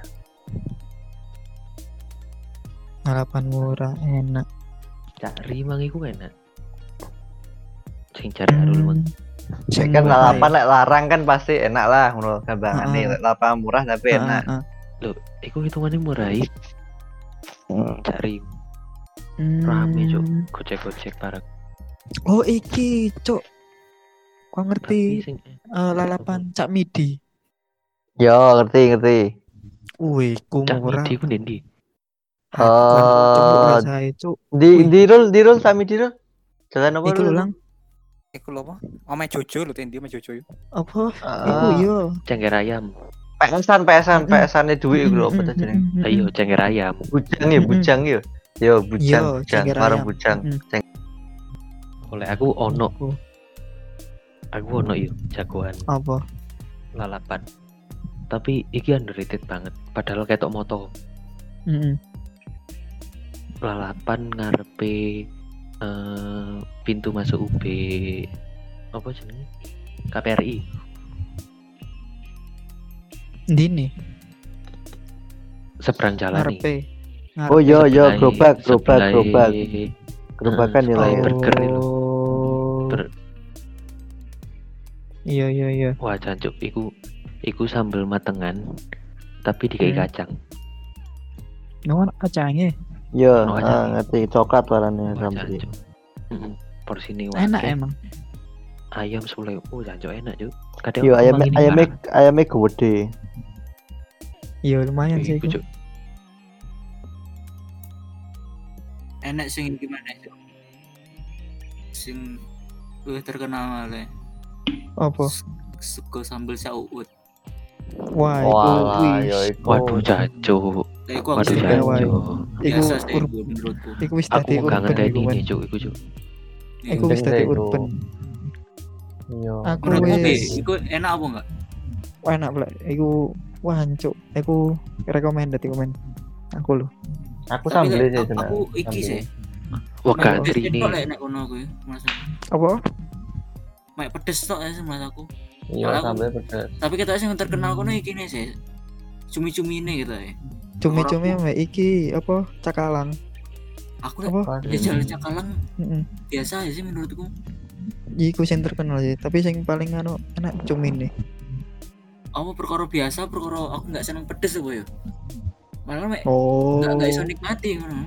Lalapan murah enak. cari mang iku enak. Sing cari Arul mang. Sing Kan murah lalapan ya. lek larang kan pasti enak lah menurut gambangane. Heeh. Lek lalapan murah tapi Heeh, enak. heeh. Loh, iku hitungannya murah iki. Hmm. Cari Hmm. rame cuk, gocek-gocek parah. Oh iki Cuk. Kau Tapi ngerti sing eh, lalapan Cak Midi? Yo ngerti ngerti. Wih, ku cak murah. midi ku ndi? Bukan cembuk Oh. rasanya Cuk. Di Wih. di roll di roll sami di roll. Jalan apa Iku roll? lho lang. Iku lho apa? Ome Jojo lho tendi Ome Jojo. Apa? Ah. Iku yo. Cengger ayam. Pesan pesan Mm-mm. pesane duit iku lho apa Mm-mm, ta jenenge? mm-mm, Ayo mm-mm. cengger ayam. Bujang ya, Mm-mm. bujang yo. Yo bujang, Yo, bujang, cengger warung ayam. bujang. Mm-mm. Ceng- Oleh aku ono, Apa? aku ono yo jagoan Apa? lalapan. Tapi iki underrated banget. Padahal ketok moto. Mm-mm. Lalapan ngarepe eh, pintu masuk U B apa jenenge? K P R I. Ndi nih? Seberang jalan nih. Ngarepe. Ngarepe. Oh yo yo Sebelahnya- gerobak, gerobak, sebelahnya, gerobak. eh, Gerobakan ya lah sebelah ya. burger itu. Oh. Ber- Iya iya iya. Wah jancuk iku iku sambel matengan tapi dikai Hmm. kacang. Nuan kacangnya Yo, Oh, ah, ada. ngerti coklat warnanya Wah sambel. jancuk. Heeh. Porsine enak wake. emang. Ayam sepuluh. Oh jancuk enak juk. Kadang Yo aku ayamnya mangan ini ayamnya barang. ayamnya gede. Iya lumayan sih Iku, iku. Cuk. Enak sing gimana sih? Sing luwih terkenal malah. Apa? Sego sambel sauut. Wah, iku Wah, wih. yo iku. Waduh jancuk. Lah iku aku Waduh sih Jancuk. jancuk. Iku biasa sih ur- iku menurutku. iku wis Aku dadi gak urban ngenteni iku kan. ini juk iku juk. Iku wis Gendeng dadi iku. urban. Yo. Aku Menurutmu Bi, wis iku enak apa enggak? wah, enak pula. Iku wah hancuk. Iku recommended iku men. Aku lho. Aku Tapi sambel lek sih aku, tenan. aku iki Sambel. sih. Wah Mek gantri pedes ini. tok lek nek kono kuwi, Mas. Apa? Mek pedes tok ya Mas aku. Iya Kalau aku- sambel pedes. Tapi kita sing terkenal kono iki nih sih. Cumi-cumi ini gitu ya. Cumi-cumi mek iki apa? Cakalang. Aku lek Apa? jajan cakalang Heeh. biasa aja sih menurutku. Iku sing terkenal sih, tapi sing paling anu enak cumi nih. Apa perkara biasa, perkara aku nggak seneng pedes apa ya. Malah mek Oh. nggak nggak iso nikmati ngono.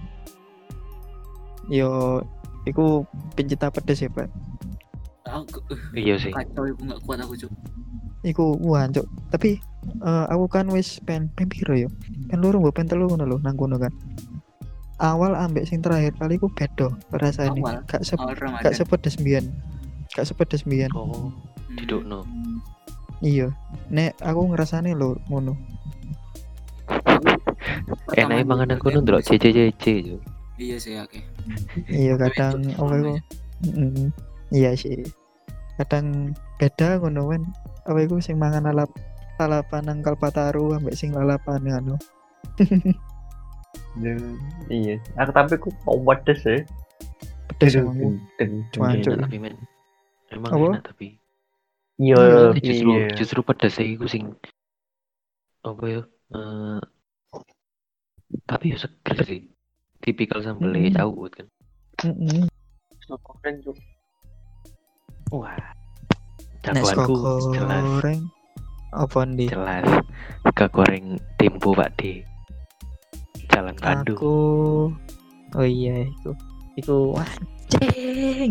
Yo iku pencinta pedes ya, Pak. Aku uh, Iya sih. kacau aku nggak kuat aku cuk. Iku wah, Cuk. Tapi eh, aku kan wis pen pen piro yo? Pen loro mbok pen telu ngono lho nang kono kan. Awal ambek sing terakhir kali ku beda rasane. Awal? Gak se Awal gak Ramadan. sepedes mbiyen. Gak sepedes mbiyen. Oh, didukno. Iya. Nek aku ngerasane lho ngono. Enake mangan aku nu ndelok C C C C yo. Iya sih oke. Iya kadang apa iku? Mm, iya sih. Kadang beda ngono kan. Apa iku sing mangan lalap lalapan nang Kalpataru ambek sing lalapan anu. Iya, aku tapi aku mau pedes ya. Pedes emang. Cuman, Enak Cuk. tapi men. Emang Apa? enak tapi. Iya, Tapi justru iya. justru pedas iku sing apa ya? Eh tapi ya seger sih. Tipikal sambelnya Mm-mm. cawut kan. Heeh. Keren Cuk. Wah. Nek Jagoanku sego jelas goreng apa ndi? jelas ke goreng Tempo Pak D. Jalan Bandung. Aku oh iya itu. Iku anjing.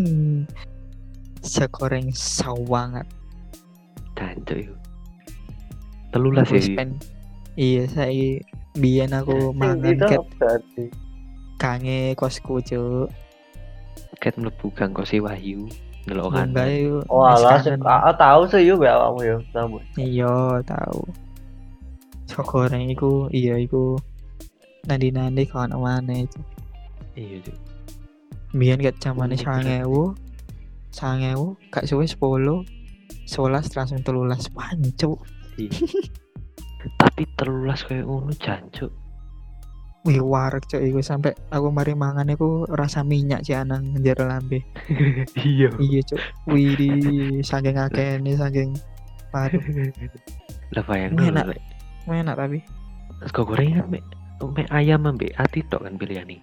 Segoreng sawangat. Jancuk iku. Telulas ya. Wis pen. Iya, saya biyen aku mangan Itu ket berarti. kange kosku, Cuk. Ket mlebu gang Kosi Wahyu ndelok Munggah kanan. yo. Walah, wis kangen. aku tahu sih yo mbak awakmu yo. Tahu. Iya, tahu. Sego goreng iku, iya iku. Nandi-nandi kawan mana itu. Iya, Cuk. Biyen ket zamane Unik sangang ewu. sangang ewu, gak suwe sepuluh. sebelas langsung telulas pancuk. Iya. Tapi telulas kayak ngono jancuk. Wih, wareg cuk iku sampai aku mari mangan iku rasa minyak sih anang njero lambe. Iya. Iya, Cuk. Wih, di saking akehne saking waduh, Lah bayangno Enak. lek enak tapi. sego goreng kan mek mek ayam ambek ati tok kan pilihane.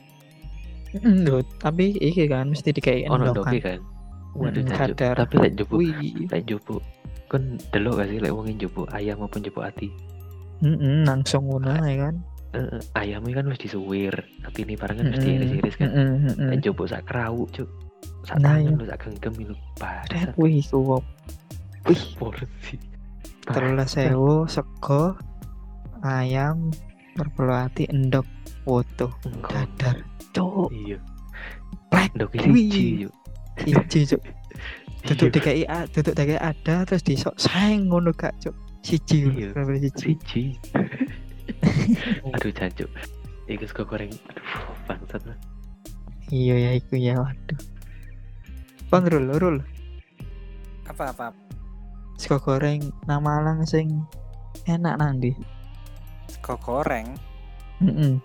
Ndut, tapi iki kan mesti dikai Ono endok ndoke kan. kan. Waduh Mm, jancuk. kadar. Tapi lek njupuk Wih, lek njupuk kan delok gak sih lek wong njupuk ayam apa njupuk ati. heeh, langsung ngono ae kan. Heeh, ayamnya kan wis disuwir, atine barang kan mesti Mm-mm, iris-iris kan. mm-mm, mm-mm. Lek njupuk sak krauk, Cuk. Sak Nah, tangan iya. lho sak genggam lho. Tet, Bangsat. wih, iku wih, Porsi. telulas sewu sego ayam berbelu ati endok foto dadar cuk Iya. plek Ndok Wih. siji, Cuk. siji cuk duduk Iya. D K I A duduk D K I ada terus disok sayang ngono gak cuk siji Iya. bener siji Siji. Aduh jancuk. Iku sego goreng. Aduh, bangsat lah. iya ya iku ya waduh Bang Rul Rul Apa apa? sego goreng nang Malang sing enak nang ndi Sego goreng. heeh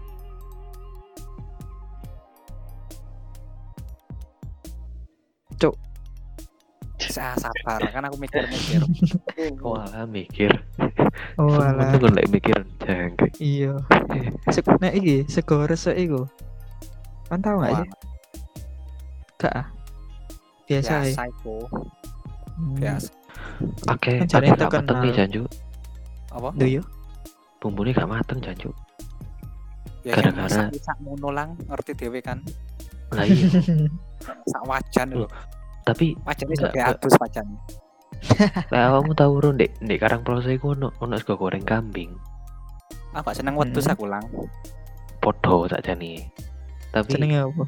Sa sabar kan aku mikir-mikir. Walah mikir. oh Semuanya alah kan lek mikir jangkrik. iya sego nek iki sego resik iku kan tau gak Wah, sih gak ah biasa ya biasa itu. Hmm. Biasa. Oke, Kan oke jarene gak mateng nih terkenal. jancuk. Apa? Duh yo Bumbune gak mateng jancuk. Ya yang Gara-gara- masak sak ngono lang ngerti dhewe kan. Lah iya. Sak wajan lho. Tapi Wajane Enggak, kayak Mbak. adus wajan. lek awakmu tau ro ndek ndek Karangploso iku ono ono sego goreng kambing. Aku gak seneng wedhus Hmm. aku lang. Podho sakjane. Tapi jenenge apa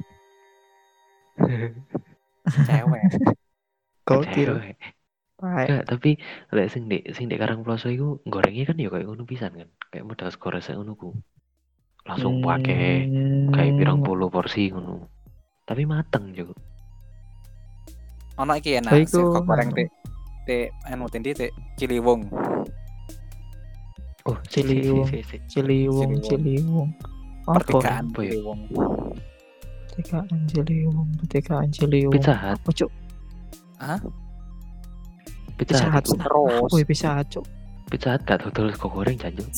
Cewek. gokil cewek. Pae. Enggak, tapi lek sing ndek sing ndek Karangploso iku gorengnya kan ya kayak ngono pisan kan. Kayak modal sego resek ngono ku. Langsung pakai kayak pirang puluh porsi ngono. Tapi mateng juga. Ono iki enak Oh, iku, sego goreng anu. te te anu tendi te Ciliwung. Oh, si, si, si, Ciliwung. si, si. Ciliwung Ciliwung. Ciliwung apa Pertigaan apa ya? Ciliwung. pertigaan Ciliwung pertigaan Ciliwung Pizza Hut. apa cuk Pizza Pizza Hut. Hut iku. Terus. wih Pizza Hut cuk Pizza Hut gak dodol sego goreng jancuk.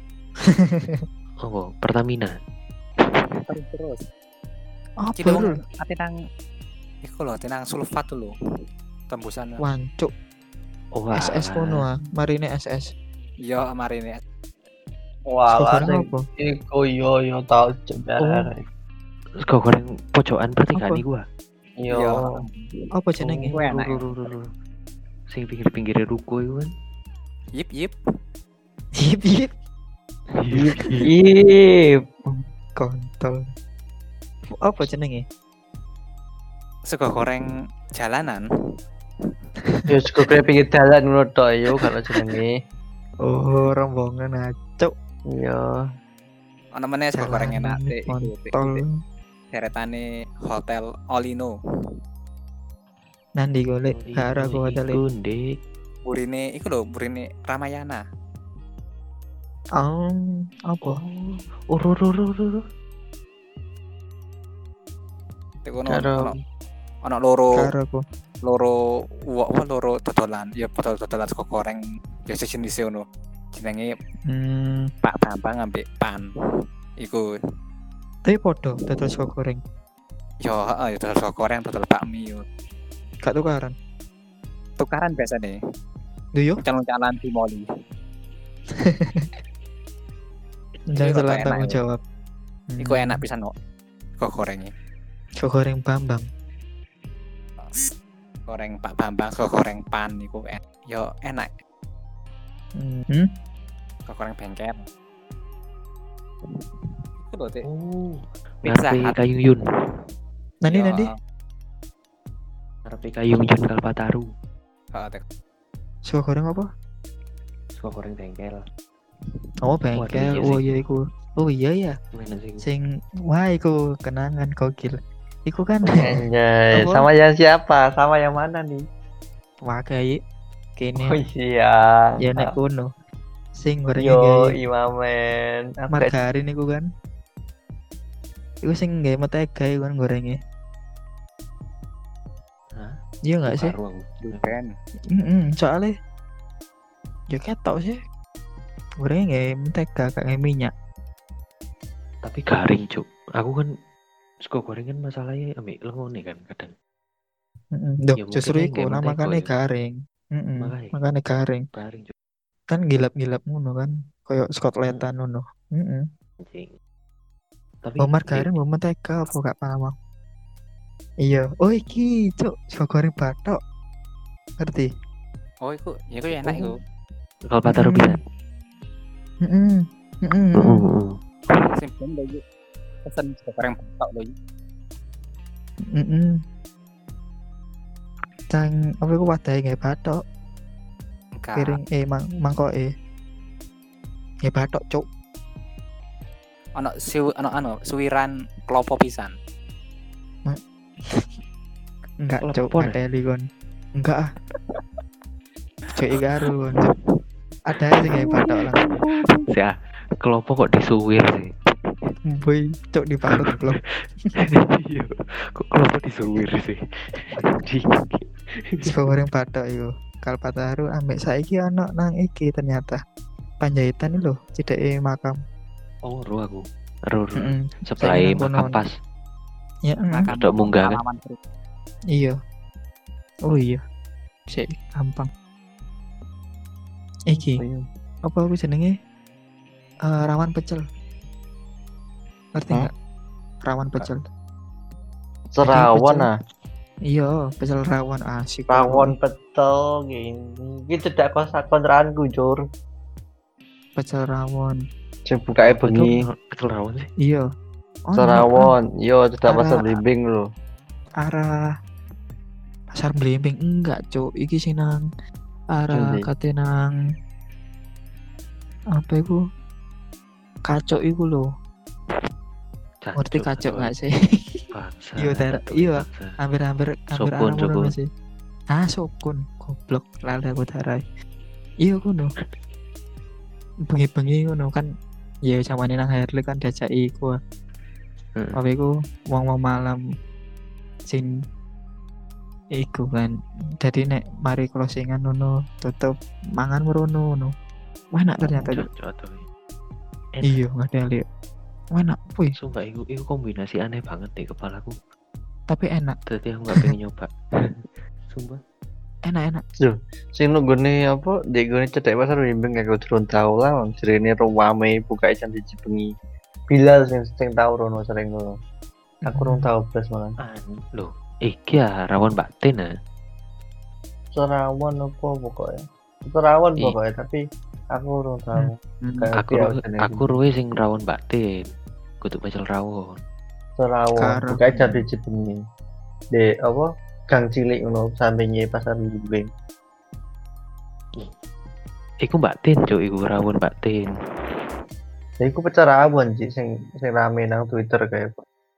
Oh, Pertamina. Terus terus. apa Ciliwung Rul? ati nang iku lho, tinang sulfat tuh lho. Tembusan. Wancuk Oh, S S kono ah marine S S Yo marine. Wah, sego lah goreng apa iku yo yo tau cebar. Sego goreng pojokan pertigaan Apa? iku ah. Yo. Yo. apa jenenge Iku enak. ya. Ru, ru, ru, ru. Sing pinggir-pinggir ruko iku kan. Yip yip. yip yip Ip. kontol apa jenenge Sego goreng jalanan. Yo sego goreng pinggir dalan ngono tok yo kalau jenenge. oh rombongan ah cuk Yo. Ono meneh sego goreng enak Jalanan Dik, iku, Dik, kontol. Dik. Deretane Hotel Olino. Nanti golek gara aku hotel iku Dik. Burine iku lho, burine Ramayana. Oh, apa? Oh, ro ro ro ro. ro. Iku ono Karo ono ono loro Gara aku. loro uwak apa loro dodolan. Ya padha dodolan sego goreng ya sejenis ngono. Jenenge Hmm, Pak Bambang ambek Pan. Iku tapi podo dodol sego goreng. yo heeh ya dodol sego goreng, dodol bakmi yo. Gak tukaran. Tukaran biasane. Duyo, Calon-calon di moli. jangan Iku salah enak, tanggung iku. jawab. Iku enak pisan kok. Sego gorengnya. Sego goreng Bambang. Goreng Pak Bambang, sego goreng Pan iku enak. Yo enak. Hmm. Sego goreng bengkel. Iku lho, Dik. Oh, Pizza ngarepe Hut. Kayung Yun. Nanti Yo, nanti Ngarepe Kayung Yun Kalpataru. heeh, Dik. sego goreng apa? Sego goreng bengkel. Oh bengkel. iya Oh sih. iya iku. Oh iya ya. Mana sih? Sing wah iku kenangan gokil. Iku kan Anjay, Apa? sama yang siapa? Sama yang mana nih? wakai kene Oh iya. ya nek kuno. Sing gorengnya Yo, gawe Imamen. Aku gak- margarin iku kan. Iku sing gawe mentega iku kan gorengnya. Hah? Iya enggak sih? Baru aku. Duren. Heeh, soalnya ya ketok sih. Gorengnya gawe mentega gak gawe minyak. Tapi garing, Cuk. Aku kan sego goreng kan masalahnya ambek lengone kan kadang. Heeh. Duh, Ya mungkin justru aja iku gawe lah mentega makane ya. garing. Heeh. Makanya. Makane garing. Garing, Cuk. Kan gilap-gilap ngono kan. Kayak skotletan ngono. Heeh. Anjing. Tapi Oh margarin mau mentega apa gak paham aku. Iya. Oh iki, Cuk, sego goreng batok. Ngerti? Oh, iku, ya iku enak iku. Kalpataru Mm. pisan. Heeh. Heeh. Heeh. Sing ben lho iki. Pesen sego goreng batok lho iki. Heeh. Cang apa iku wadahe gawe batok, Enggak. piring eh mang mangkoke. Gawe batok, Cuk. Ono siu ono ano suwiran klopo pisan. Enggak, Cuk, Lepon, pateli kon. Enggak ah. Cuk iki karo kon. Cuk. Ada aja gawe batok lah. Ya, kelompok kok disuwir sih. Boy, Cuk diparut belum. Iya. Kok kelompok disuwir sih. Anjing. Sego goreng batok iku. Kalpataru ambek saiki ana nang iki ternyata. Panjaitan lho, cedeke makam. Oh, ro aku. Ro ro. Heeh. Seplai Saiki nang makam kono. pas. Ya, heeh. Makan Ada munggah kan? pengalaman terus. Iya. Oh iya. Sik gampang. Iki, Oh, iya. apa aku jenenge? Eh, rawan pecel. Ngerti Hah? enggak? Rawan pecel. Serawan pecel. ah. Iya, pecel rawon asik. Rawon betul gini. Iki cedak kos kontrakanku, Cur. Pecel rawon. Sing bukae bengi. Betul, betul rawon sih. Iya. Oh, Serawon. Yo, cedak Arah- pasar blimbing lho. arah pasar Blimbing enggak, Cuk. Iki sing nang arah Endi? kate nang apa iku? Kacok iku lho. Ngerti kacok enggak sih? Bangsa. Iya, Dar. Aduh, Iya. bangsa. hampir-hampir hampir Sukun, arah kono sukun. masih. Ah, sukun. Goblok, lali aku darai. Iya kono. Bengi-bengi ngono kan ya zamane nang Herli kan diajaki iku. Heeh. Apa iku wong-wong malam sing iku kan. Jadi nek mari closingan ngono tutup mangan merono ngono. Wah, enak ternyata. Cuk. Cocok tuh. Enak. Iya, nggak ada lihat. Wah, enak, wih. Sumpah itu, itu kombinasi aneh banget di kepalaku. Tapi enak, Jadi aku gak pengen nyoba. Sumpah. enak-enak. Sing nunggone apa? Dek gone cedak pasar blimbing aku durung tau lah. wong Jerene ruwame buka jam siji bengi. Bilal sing sing tau rono sering ngono. Aku Hmm. urung tau blas malah. Anu, loh. Iki ya rawon batin ah. Serawan apa pokoknya. Serawan Ih. pokoknya tapi aku urung tau. Hmm. Kayak Aku dia ru- jenenge. aku ruwe sing rawon batin. Kudu pecel rawon. Serawan Sekarang. buka jam siji bengi. Di apa? Gang cilik ngono sampinge pasar blimbing. Iku batin, Cuk, iku rawon batin. Ya iku pecah rawon sih sing sing rame nang Twitter kayak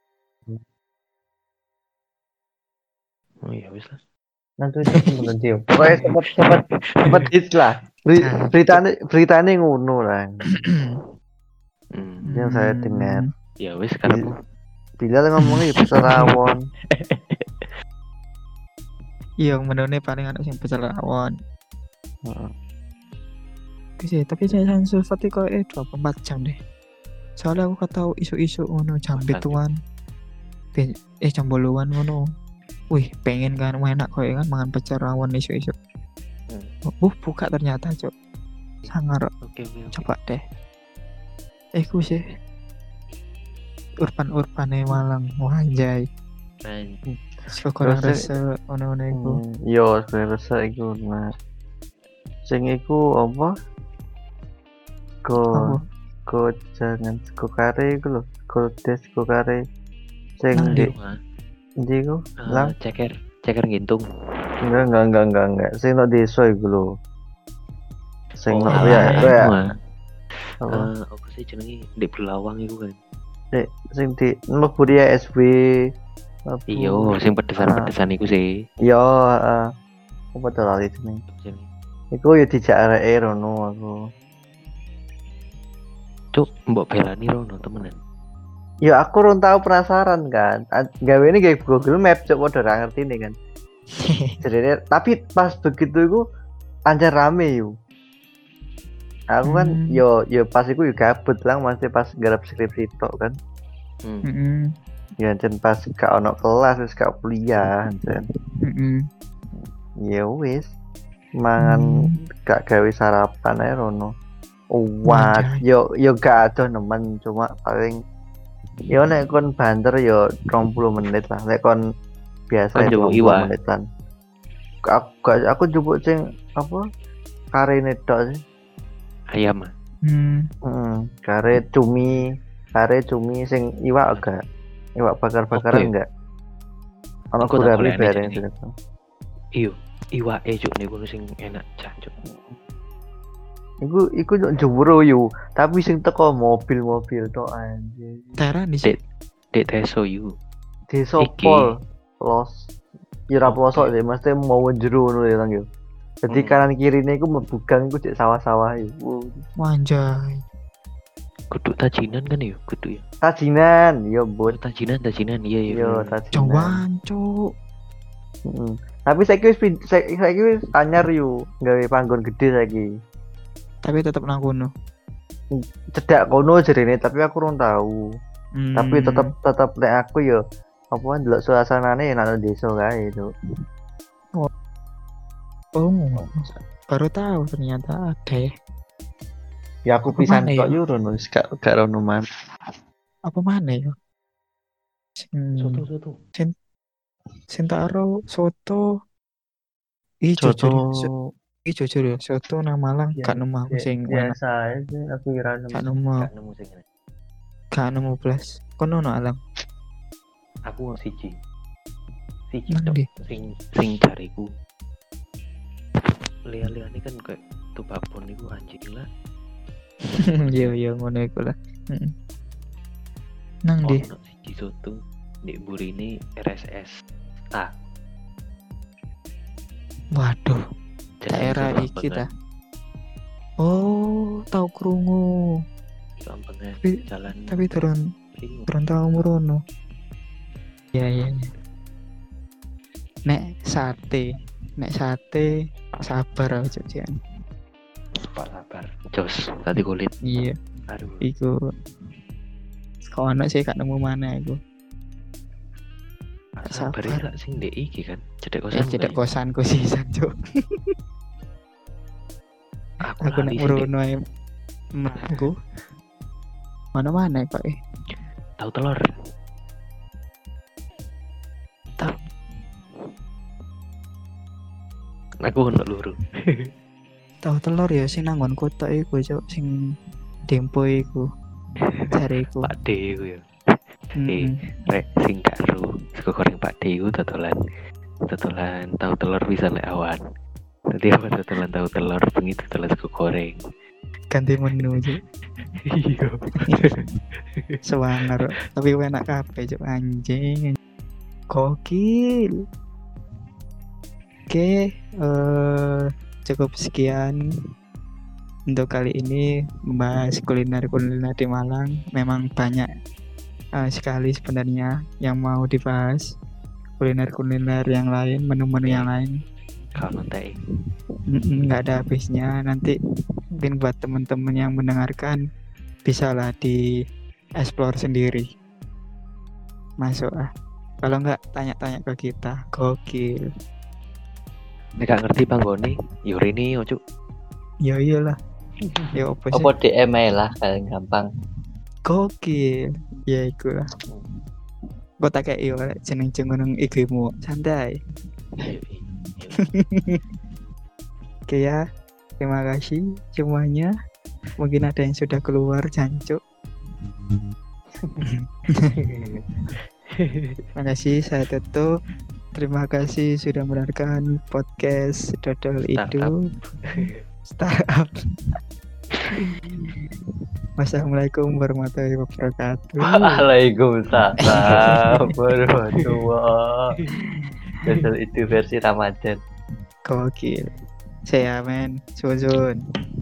Oh iya wis lah. nang Twitter temen dia. Pokoknya sempat sempat sempat hits lah. Beri, Cacuk. beritanya beritanya ngono lah Hmm. yang saya dengar. Ya wis karepmu. Bilal ngomongnya ya pecah rawon. Iya menurutnya paling anak sing pecel rawon. Heeh. Bisa, tapi saya sulfat itu kok eh dua puluh empat jam deh. Soalnya aku ketau isu-isu ngono jam Makan, pituan. Be- Eh jam boluan ngono. Wih, pengen kan enak kok kan mangan pecel rawon isu-isu. Hmm. Uh, buka ternyata, Cuk. Sangar. Oke oke. oke. Coba deh. Eh ku sih. Urban-urbane Malang. Wah, anjay. Anjing. Sekurang Terus, rasa ono-ono iku. Hmm, yo sebenarnya rasa iku nah. Sing iku apa? Go Apa? go jangan go kare iku lho. Go des go kare. Sing Nang di ndi? Rumah. ndi iku? Eh, Lang ceker, ceker ngintung. enggak enggak enggak enggak enggak. Sing no desa iku lho. Sing no alah, ya anu, ya. ah. Apa? Eh, apa sih jenenge di Belawang iku kan. Sing sing di mlebu dia S B. Apa? Iya, sing pedesan-pedesan iku sih. Yo, heeh. Apa tuh lali jeneng? Jenenge. Iku ya dijak areke rono aku. Cuk, mbok belani rono temenan. Ya aku run tahu penasaran kan. A- Gawe ini kayak Google Map cok padha ra ngerti nih kan. Jadi tapi pas begitu iku anjir rame yuk. Aku kan Hmm. yo yo pas iku yo gabut lah masih pas garap skripsi tok kan. Hmm. Heeh. Ya jen pas gak ono kelas wis gak kuliah jen. Heeh. Ya wis mangan Hmm. gak gawe sarapan ae rono. Wah, Anjay. yo yo gak ada nemen cuma paling yo nek kon banter yo dua puluh menit lah. Nek kon biasa Kon ya njupuk dua puluh iwak? menitan. Aku gak- aku jupuk sing apa? Karene tok sih. Ayam. ah. Hmm. Heeh, kare cumi, kare cumi sing iwak agak. Iwak bakar-bakaran Oke. enggak? Ono Aku tak gurame golekne bareng jenenge. gitu. Iyo, iwake cuk niku sing enak jancuk. Iku iku yo jeburo yo, tapi sing teko mobil-mobil tok anjir. Tara di sini. Dek teso yu. Desa Iki. Pol, los. Ya ora Oke. pelosok sih, mesti mau jero ngono ya Lang yo. Jadi Hmm. kanan kirine iku mebugang iku cek sawah-sawah yo. Wow. Wanjay. Kudu tajinan kan ya, kudu ya. Tajinan, yo Oh, bot. tajinan, tajinan. Iya iya. Yo bener. tajinan. Jawan, Cuk. Heeh. Tapi saiki wis pin- saiki saiki wis anyar yo, gawe panggon gede saiki. Tapi tetap nang kono. Cedak kono jerene, tapi aku kurang tahu. Hmm. Tapi tetep tetep nek aku yo apa ndelok suasanane nang desa kae itu. Oh, baru tahu ternyata ada ya. Ya aku Apa pisan mana kok ya? yo rono wis gak gak rono man. Apa mana ya? Sing Soto soto. sing tak ero soto. Ih, Soto jujur, ya, so- ih jujur ya, soto nang Malang Ya, gak nemu aku ya- sing enak. biasa aja aku kira Gak nemu, Gak nemu sing enak. gak nemu plus. Kono no Alang. Aku siji. Siji Nang tok ndi? sing sing jariku. Lihat-lihat kan kayak tuh babon iku anjing lah. Iya, iya ngono iku lah. Heeh. Nang ndi? Ono siji soto di burine R S S. Ah, Waduh, jadi daerah itu iki Lambangan. ta. Oh, tahu krungu. Lambangan Tapi- jalan. Tapi turun Ini turun tahu murono. Iya, iya, iya. Nek sate, nek sate sabar aja Jan. Pak sabar. Jos, tadi kulit. Iya, Aduh. iku. Kau anak sih gak nemu mana iku. Pak sabar. sabar itu sing ndek iki kan. Cedek Ya kosan. tidak kan? kosanku sih Sanjo. Aku, Aku nek lali sih, Dek. murono ae menengku. Mana-mana kok eh. Tahu telur. Tahu. Aku ono luru. Tahu telur ya sing nanggon kota iku cok sing Dempo iku. Jariku. Pak D iku ya. Mm-mm. Rek sing karo sego goreng Pak D iku totolan. Totolan tahu telur bisa lek awan. Nanti apa totolan tahu telur bengi totolan sego goreng. ganti menu Cuk. Iya. Sewanger tapi enak kabeh Cuk, anjing. Gokil. Oke, eh cukup sekian untuk kali ini membahas kuliner-kuliner di Malang. Memang banyak eh, sekali sebenarnya yang mau dibahas. Kuliner-kuliner yang lain, menu-menu yang lain. Kalau teh. Mm-mm, nggak ada habisnya. Nanti mungkin buat teman-teman yang mendengarkan bisa lah di explore sendiri. Masuk ah. Kalau nggak tanya-tanya ke kita. Gokil. Nek gak ngerti panggone, yuri ini ojo. Ya iyalah. Ya apa sih? Apa D M ae lah paling gampang. Gokil. Ya iku lah. Kok tak kayak iyo jeneng-jeneng nang I G-mu. Santai. Oke ya. Terima kasih semuanya. Mungkin ada yang sudah keluar jancuk. Terima kasih, saya tutup. Terima kasih sudah mendengarkan podcast Dodol Itu Startup. Wassalamualaikum warahmatullahi wabarakatuh. Waalaikumsalam warahmatullahi. Dodol Itu versi Ramadan. Gokil. Saya men, Suzun.